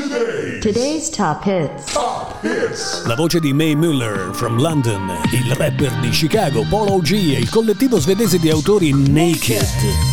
Today's top hits. La voce di Mae Muller from London, il rapper di Chicago Polo G e il collettivo svedese di autori Naked.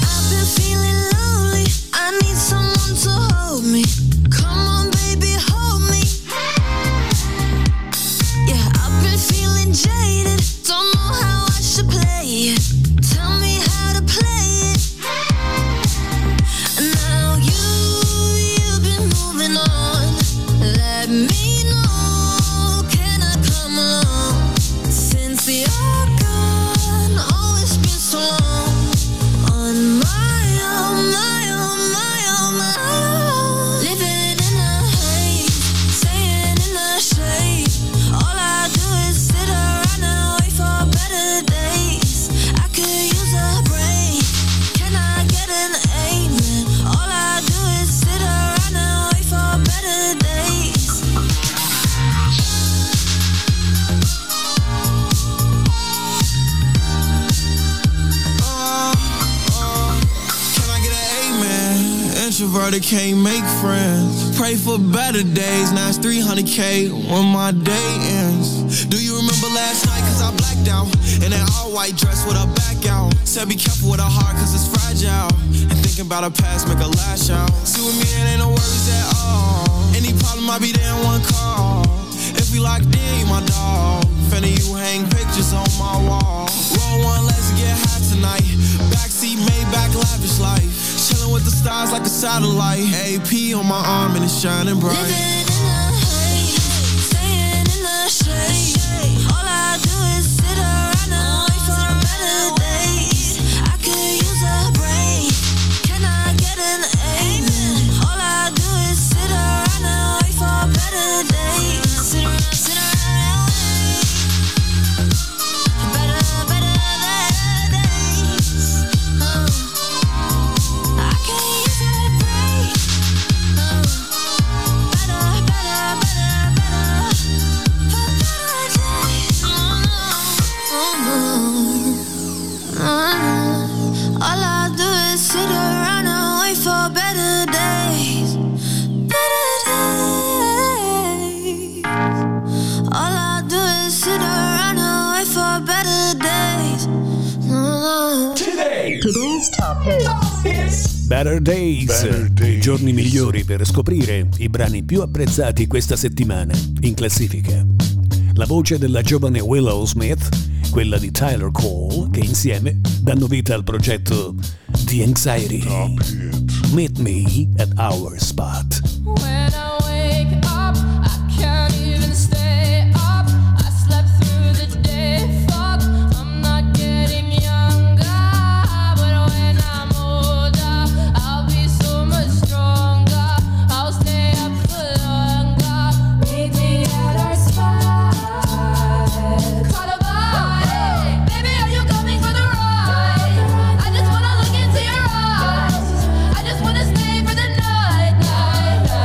Can't make friends. Pray for better days. Now it's 300K when my day ends. Do you remember last night? Cause I blacked out in that all white dress with her back out. Said be careful with her heart cause it's fragile. And thinking about her past make her lash out. See with me it ain't no worries at all. Any problem I be there in one call. If we locked in, you my dog. Finna you hang pictures on my wall. Roll one, let's get high tonight. Backseat, Maybach, lavish life. Chillin' with the stars like a satellite. AP on my arm and it's shining bright. Living in the haze, staying in the shade. All I do is sit around and wait for better days. I could use a break. Can I get an amen? All I do is sit around and wait for better days. Sit around and wait. Better days. I can't use a break. Better days. All I do is sit around and wait for better days. Better days. All I do is sit around and wait for better days. Today's top hits. Better Days, i giorni migliori per scoprire i brani più apprezzati questa settimana in classifica. La voce della giovane Willow Smith, quella di Tyler Cole, che insieme danno vita al progetto The Anxiety. Meet me at our spot. When I wake up, I can't even stay up. I slept through the day, fuck, I'm not getting younger. But when I'm older, I'll be so much stronger. I'll stay up for longer. Meet me at our spot. Caught a body. Baby, are you coming for the ride? I just wanna look into your eyes. I just wanna stay for the night, night, night.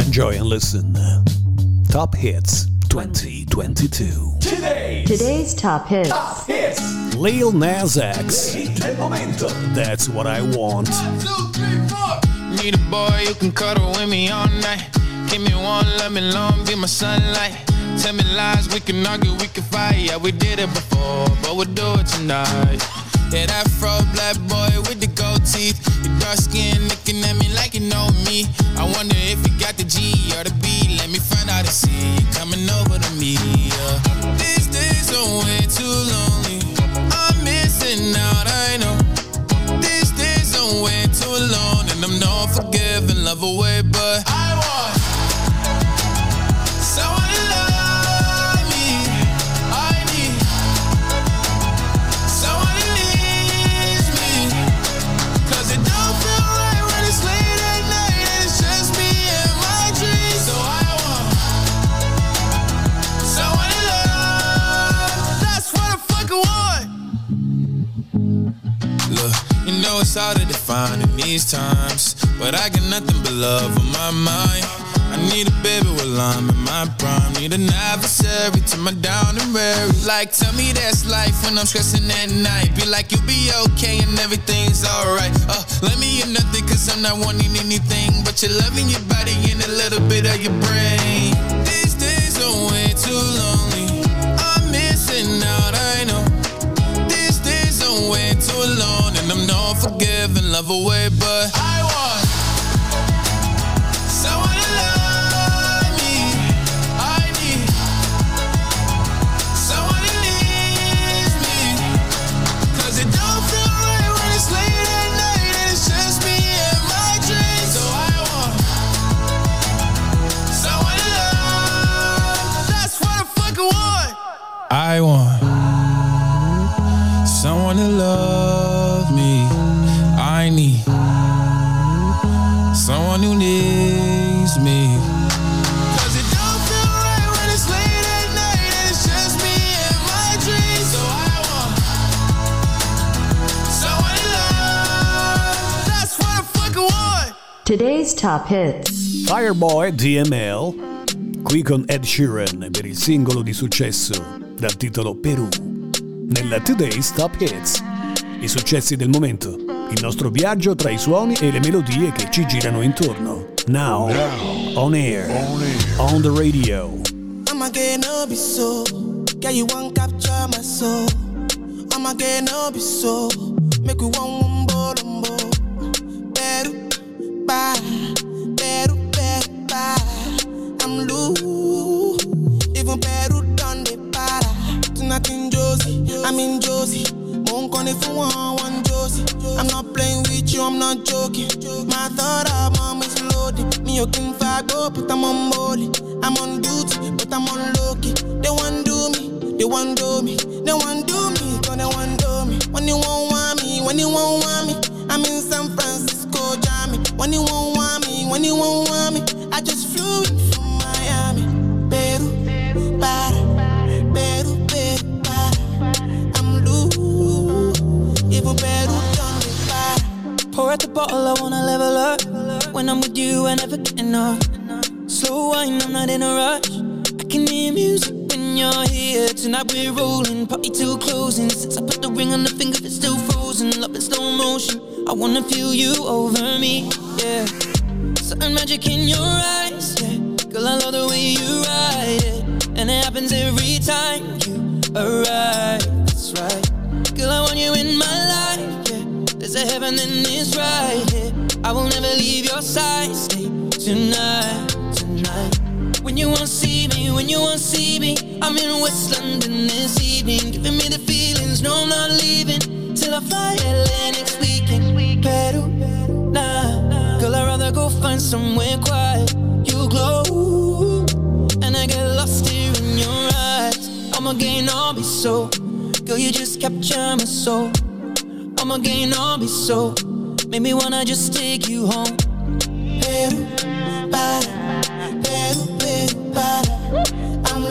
Enjoy and listen. Top Hits 2022. Today's top hits. Lil Nas X. That's what I want. 1, 2, 3, 4. Need a boy who can cuddle with me all night. Give me one, let me long, be my sunlight. Tell me lies, we can argue, we can fight. Yeah, we did it before, but we'll do it tonight. Yeah, that fro black boy with the gold teeth. Your dark skin looking at me like you know me. I wonder if you got the G or the B. Let me find out and see you coming over to me. These days are way too lonely. I'm missing out, I know. These days are way too alone, and I'm not forgiving, love away, but I want someone to love me. I need someone who needs me. 'Cause it don't feel right when it's late at night and it's just me and my dreams. So I want someone to love. That's what I fucking want. Look, you know it's hard to define in these times, but I got nothing but love on my mind. I need a baby while I'm in my prime. Need an adversary to my down and weary. Like, tell me that's life when I'm stressing at night. Be like, you'll be okay and everything's alright. Let me hear nothing 'cause I'm not wanting anything but your love and your body and a little bit of your brain. These days are way too lonely. I'm missing out, I know. These days are way too alone, and I'm not forgiving, love away, but I want someone to love me. I need someone who needs me. 'Cause it don't feel right when it's late at night and it's just me and my dreams. So I want someone to love. That's what I fucking want. I want someone to love me. I need someone who needs me. 'Cause it don't feel right when it's late at night and it's just me and my dreams. So I want someone to love. That's what I fucking want. Today's top hits. Fireboy DML, qui con Ed Sheeran per il singolo di successo dal titolo Perù. Nella Today's Top Hits, i successi del momento, il nostro viaggio tra i suoni e le melodie che ci girano intorno. Now, on air, on the radio. I'ma get no be so. Girl, you won't capture my soul. I'ma get no be so. Make we one bombo. Peru, bye. Peru, Peru, bye. I'm loose. Even Peru done the para. Tonight in Josie, I'm in Josie. Won't call if you want one Josie. I'm not playing with you, I'm not joking. My thought of mom is loaded. Me, you can go, but I'm on molly. I'm on duty, but I'm on low-key. They want do me, they want do me. They want do me, cause they want do me. When you won't want me, when you won't want me. I'm in San Francisco, Jammy. When you won't want me, when you won't want me. I just flew in from Miami. Peru, para. Peru, Peru, para. I'm loose. Even Peru done me para. Pour out the bottle, I wanna level up. When I'm with you, I never get enough. Slow wine, I'm not in a rush. I can hear music when you're here. Tonight we're rolling, party till closing. Since I put the ring on the finger, it's still frozen. Love in slow motion, I wanna feel you over me, yeah. Certain magic in your eyes, yeah. Girl, I love the way you ride it. And it happens every time you arrive, that's right. Girl, I want you in my life, yeah. There's a heaven and it's right here. I will never leave your side, stay tonight, tonight. When you won't see me, when you won't see me, I'm in West London this evening, giving me the feelings, no I'm not leaving, till I fly LA next weekend. Peru, nah, girl I'd rather go find somewhere quiet. You glow, and I get lost here in your eyes. I'ma gain all be so, girl you just capture my soul. I'ma gain all be so, make me wanna just take you home. Peru, para, Peru, Peru, para. I'm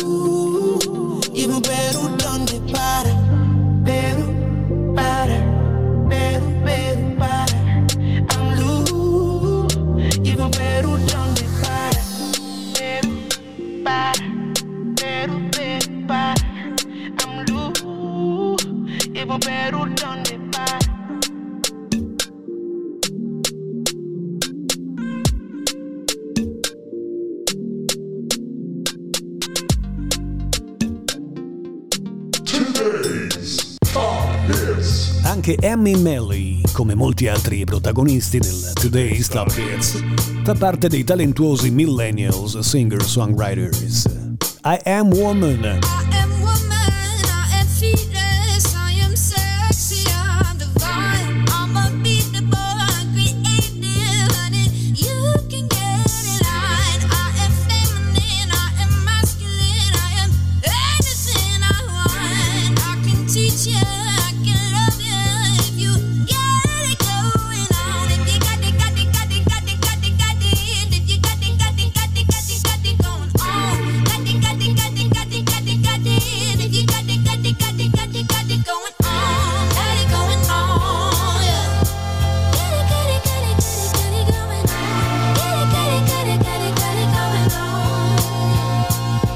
loose, even Peru done the para. Peru, para, Peru, Peru, para. I'm loose, even Peru done the para. Anche Amy Melly, come molti altri protagonisti del Today's Top Hits, fa parte dei talentuosi millennials singer-songwriters. I Am Woman. I am woman, I am fearless, I am sexy, I'm divine, I'm unbeatable, I'm creative, honey, you can get in line. I am feminine, I am masculine, I am anything I want. I can teach you, I can love you if you get it going on. If you got it, got it, got it, got it, got it, got it. If you got it, got it, got it, got it, got it going on. Got it, got it, got it, got it, got it, got it. If you got it, got it, got it, got it, got it going on. Got it going on, yeah. Got it, got it, got it, got it, got it going on. Got it, got it, got it, got it, got it going on.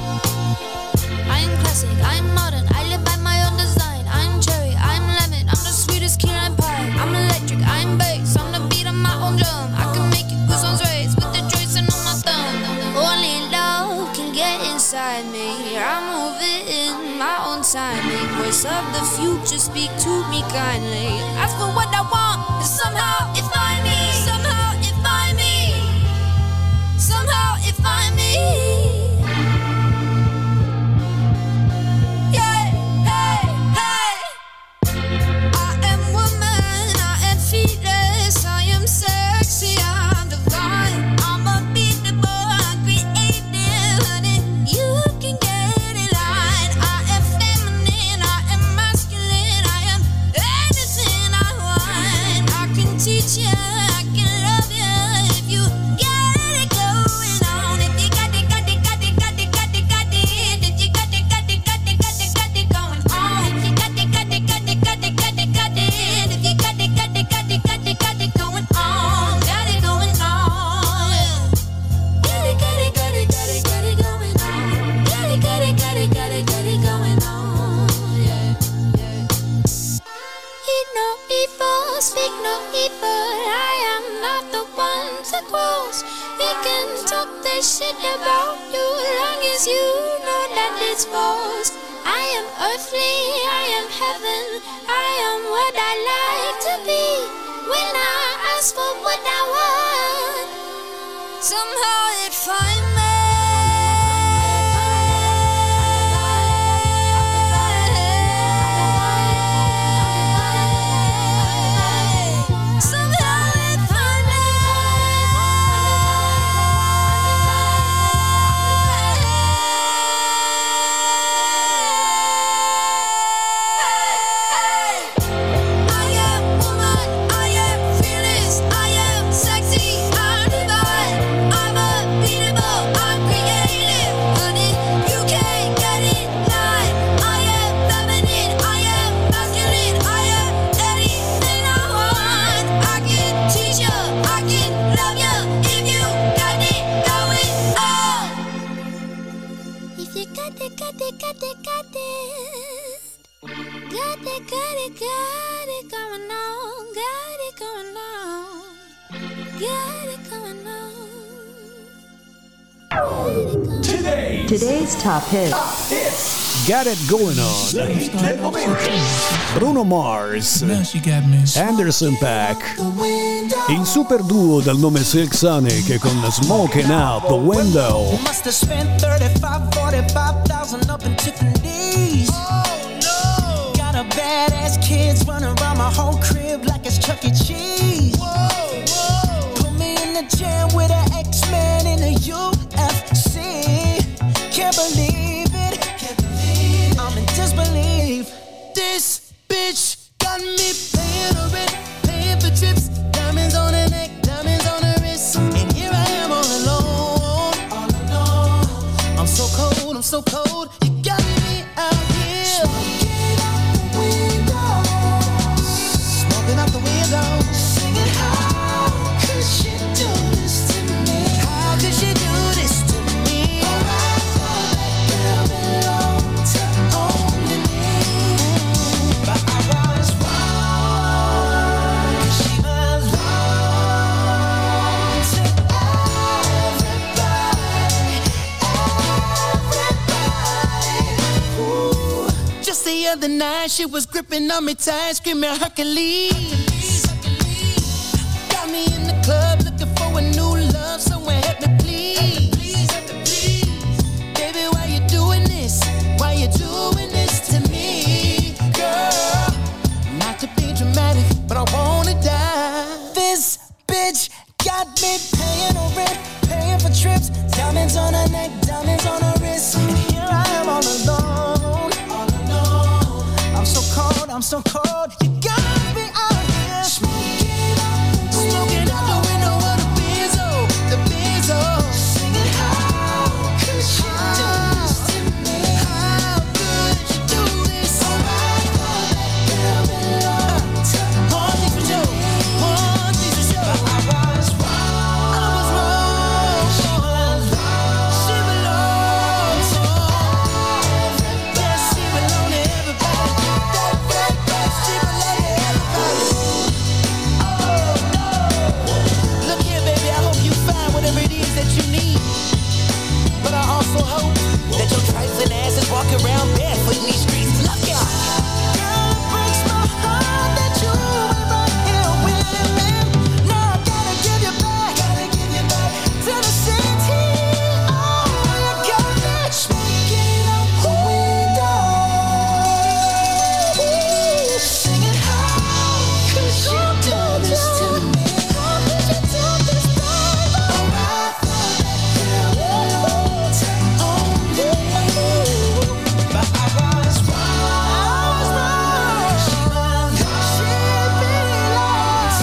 I am classic, I am modern, I live by my own design. I'm cherry, I'm lemon, I'm the sweetest key lime pie. I'm electric, I'm bass, I'm the beat of my own drum. I can make you goosebumps raise with the joints and on my thumb. Only love can get inside me. I move it in my own timing. Voice of the future, speak to me kindly. Ask for what I want, and somehow it find me. Somehow it find me. Somehow it find me. Yeah, hey, hey. I am woman, I am fearless, I am sexy, I'm divine, I'm unbeatable, I'm creative, honey, you can get in line. I am feminine, I am masculine, I am anything I want. I can teach you, I can love you if you get it going on. If you got it, got it, got it, got it, got it, got it. If you got it, got it, got it, got it, got it going on. If you got it, got it, got it, got it, got it, got it. If you got it, got it, got it, got it, got it going on. Got it going on, yeah. Got it, got it, got it, got it, got it going on. Got it, got it, got it, got it, got it going on, yeah, yeah. Eat no evil, speak no evil. I am not the one to cross. They can talk their shit about you long as you know that it's false. I am earthly, I am heaven, I am what I like to be. When I ask for what I want, somehow it find me. Somehow it find me. I am woman, I am fearless, I am sexy, I'm divine, I'm unbeatable, I'm creative, honey, you can't get in line. I am feminine, I am masculine, I am anything I want. I can teach you, I can love you if you got it going on. If you got it, got it, got it, got it. Got it, got it, got it going on. Got it going on. Got it going on. Today's top hits. Got It Going On. Bruno Mars, Now she got me. Anderson .Paak, il super duo dal nome Silk Sonic con Smoking Out the Window. Must have spent 35, 45,000 up in Tiffany's. Oh no! Got a badass kids running around my whole crib like it's Chuck E. Cheese. Whoa, whoa! Put me in the jam with an X-Men in the UFC. Can't believe it. I'm in disbelief. This bitch got me paying her rent, paying for trips, diamonds on her neck, diamonds on her wrist, and here I am all alone, all alone. I'm so cold, I'm so cold. You got me out here. Smoking out the window, smoking out the window, singing how could she do this to me? How could she do this to me? Oh, I thought that girl belonged to only me, but I was wrong. She belonged to everybody, everybody. other night, she was gripping on me tight, screaming Hercules. Got me in the club looking for a new love, someone help me please. Baby, why you doing this? Why you doing this to me, girl? Not to be dramatic, but I wanna die. This bitch got me paying her rent, paying for trips, diamonds on her neck, diamonds on her wrist. And here I am all alone, all alone. I'm so cold, I'm so cold. You got me out here smoking out the window of the Benzo, the Benzo. Singing, how could you do this to me? How could you do this? Alright, girl, belong to one thing for sure, one thing for sure. I was wrong. She belongs to yes, she belongs to everybody. That she belongs to everybody. Oh no! Look here, baby, I hope you find whatever it is that you need. But I also hope that your trifling ass is walking around barefoot in these streets. Look out! Girl, it breaks my heart that you ain't right here with me. Now I gotta give you back to the city. Oh, you got me smoking out the window, singing, how could you do this to me? How could you do this, baby? Alright, girl, belong to only you. But I was wrong. She belongs to everybody.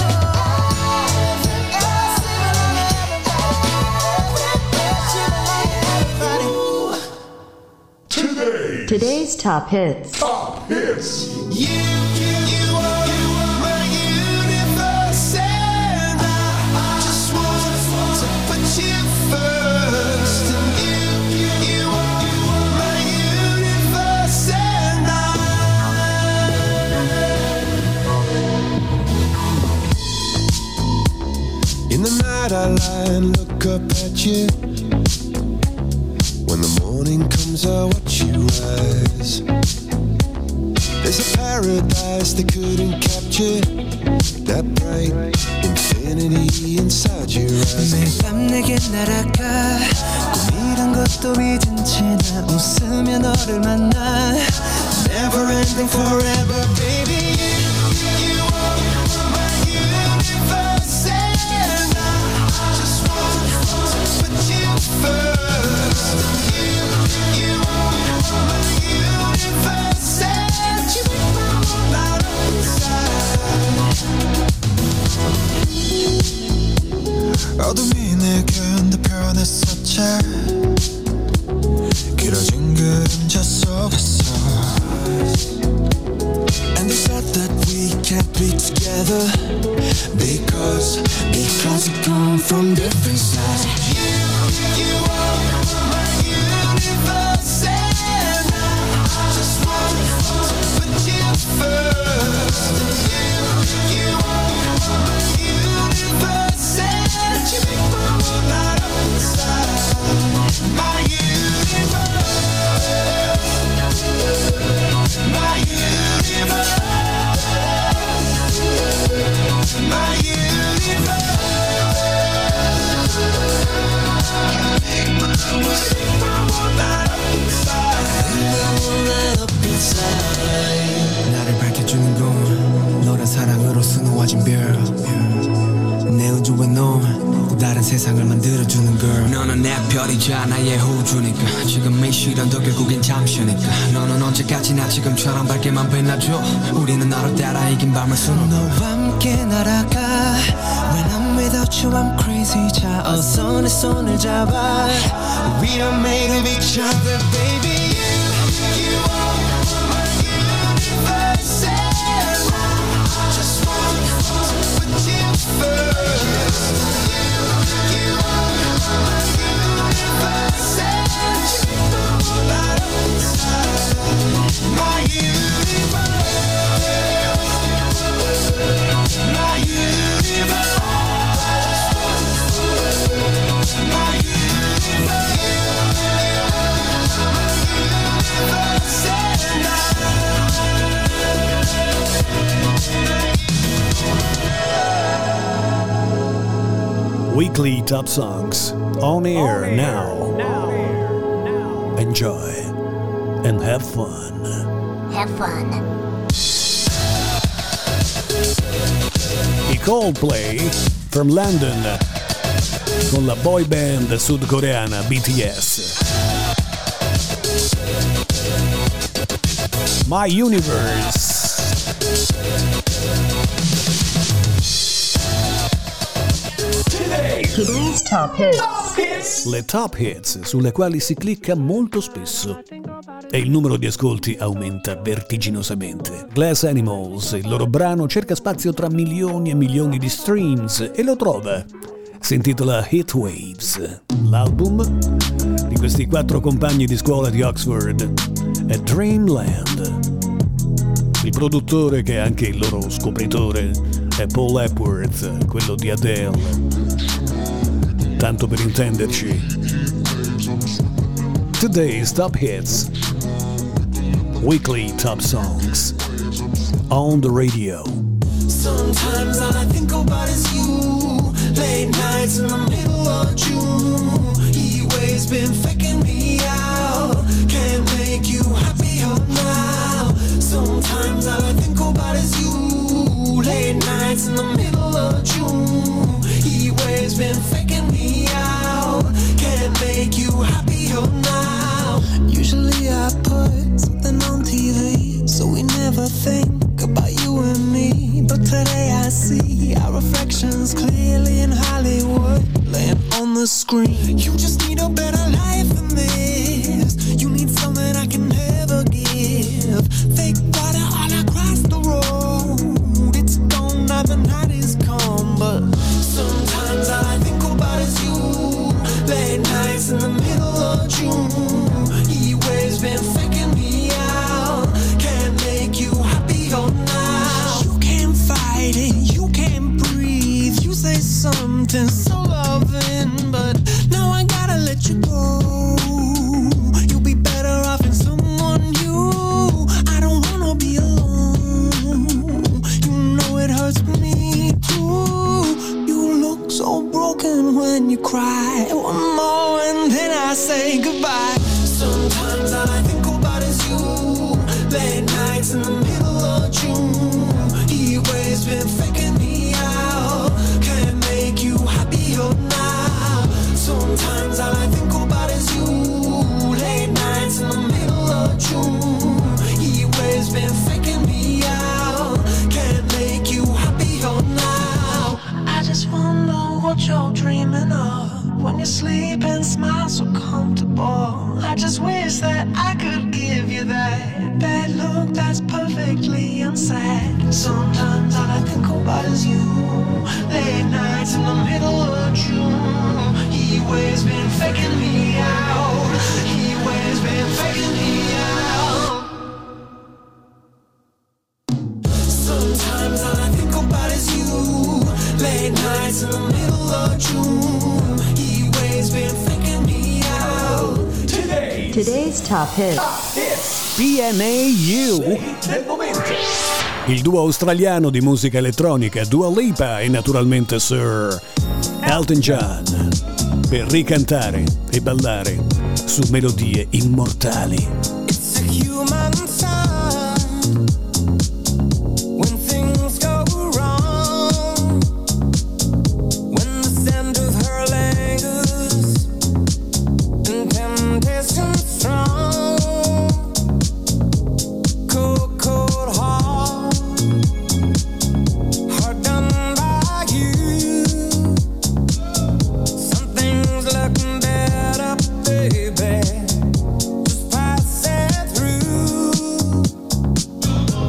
Today's top hits. Top hits. You are my universe, and I just want to put you first. You are my universe, and in the night I lie and look up at you. When the morning comes, I watch you rise. There's a paradise they couldn't capture, that bright infinity inside your eyes. 매일 밤 내게 날아가 꿈이란 것도 잊은 채 나 웃으며 너를 만나. Never ending forever, baby. You are my universe, and I just want to put you first. You are my universe, and you make my whole light up inside. 어둠이 내게 흔들펴냈었지. 길어진 그림자 속에서. And they said that we can't be together because we come from different sides. You are my universe, and I just want to put you first. You are my universe, and you make my whole light up inside. My universe. My universe, my universe. 나를 밝혀주는 건 너란 사랑으로 수놓아진 별. 내 우주에 넌 또 다른 세상을 만들어주는 girl. 너는 내 별이자 나의 호주니까 지금의 시련도 결국엔 잠시니까. 너는 언제까지나 지금처럼 밝게만 빛나줘. 우리는 너를 따라 이긴 밤을 수놓. 너와 함께 날아가. When I'm without you I'm crazy. 자 어서 내 손을 잡아. We are made of each other, baby. You are my universe, and I just want to put you first. You are my universe, and you make my whole light up inside. My universe, my universe, my universe. Weekly Top Songs on air now. Enjoy and have fun. Have fun. I Coldplay from London con la boy band sudcoreana BTS. My Universe. Today's Top Hits. Le top hits sulle quali si clicca molto spesso e il numero di ascolti aumenta vertiginosamente. Glass Animals, il loro brano cerca spazio tra milioni e milioni di streams e lo trova. Si intitola Heat Waves. L'album di questi 4 compagni di scuola di Oxford è Dreamland. Il produttore, che è anche il loro scopritore, è Paul Epworth, quello di Adele. Tanto per intenderci. Today's Top Hits. Weekly Top Songs. On the radio. Sometimes all I think about is you. Late nights in the middle of June. He always been faking me out. Can't make you happier now. Sometimes all I think about is you. Late nights in the middle of June. He always been faking me out. Can't make you happier now. Usually I put something on TV, so we never think about you and me. But today I see our reflections clearly in Hollywood, laying on the screen. You just need a better life than this. You need something I can never give. Fake water all across the road. It's gone now, the night is come. But sometimes all I think about is you. Late nights in the middle of June. He always been faking me out. Can't make you happier now. You can't fight it, you can't breathe. You say something so loving, but now I gotta let you go. You'll be better off in someone new. I don't wanna be alone. You know it hurts me too. You look so broken when you cry. One more and then I say goodbye. Sometimes all I think about is you. Late nights in the middle of June. He always been faking me out. Can't make you happier now. Sometimes all I think about is you. Late nights in the middle of June. He always been faking me out. Can't make you happier now. I just wonder what you're dreaming of. When you sleep and smile so comfortable. I just wish that I could give you that bad look that's perfectly unsaid. Sometimes all I think about is you. Late nights in the middle of June. He always been faking me out. He always been faking me out. Sometimes all I think about is you. Late nights in the middle of June. He always been faking me out. Today's Top Hits. PNAU. Il duo australiano di musica elettronica Dua Lipa e naturalmente Sir Elton John per ricantare e ballare su melodie immortali. It's a human sign when things go wrong. When the scent of her lingers and temptation strong. Cold, cold heart, heart done by you. Something's looking better, baby. Just pass it through.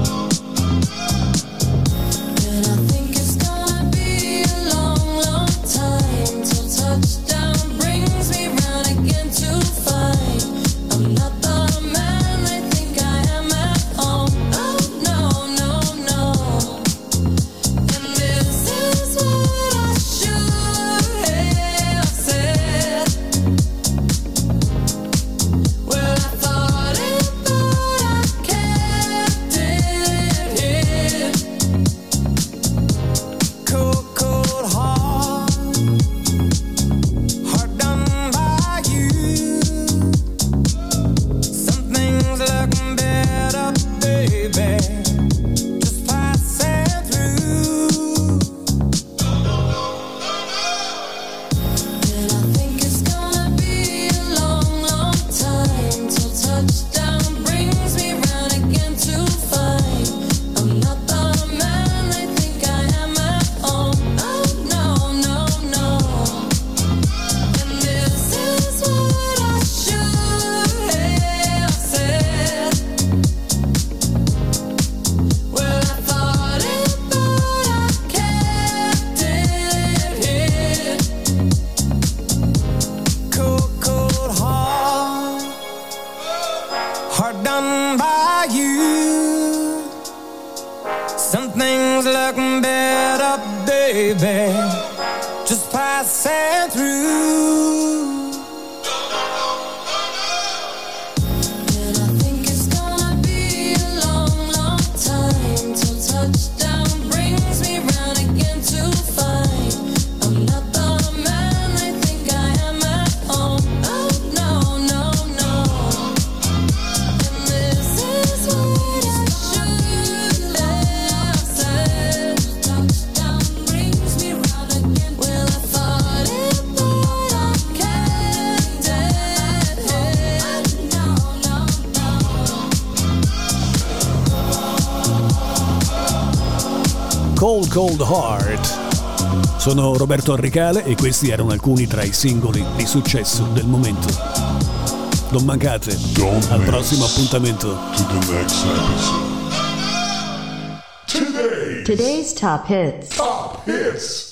just passing through. And I think it's gonna be a long, long time till touchdown brings me round again to find I'm not the man I think I am at home. Oh no, no, no. And this is what I should have said. Touchdown brings me round again. Well, I thought it, but I can't dead. No, no, no. Cold Cold Heart. Sono Roberto Arrecale e questi erano alcuni tra i singoli di successo del momento. Non mancate al prossimo appuntamento. To the next episode. Today's top hits. Top hits.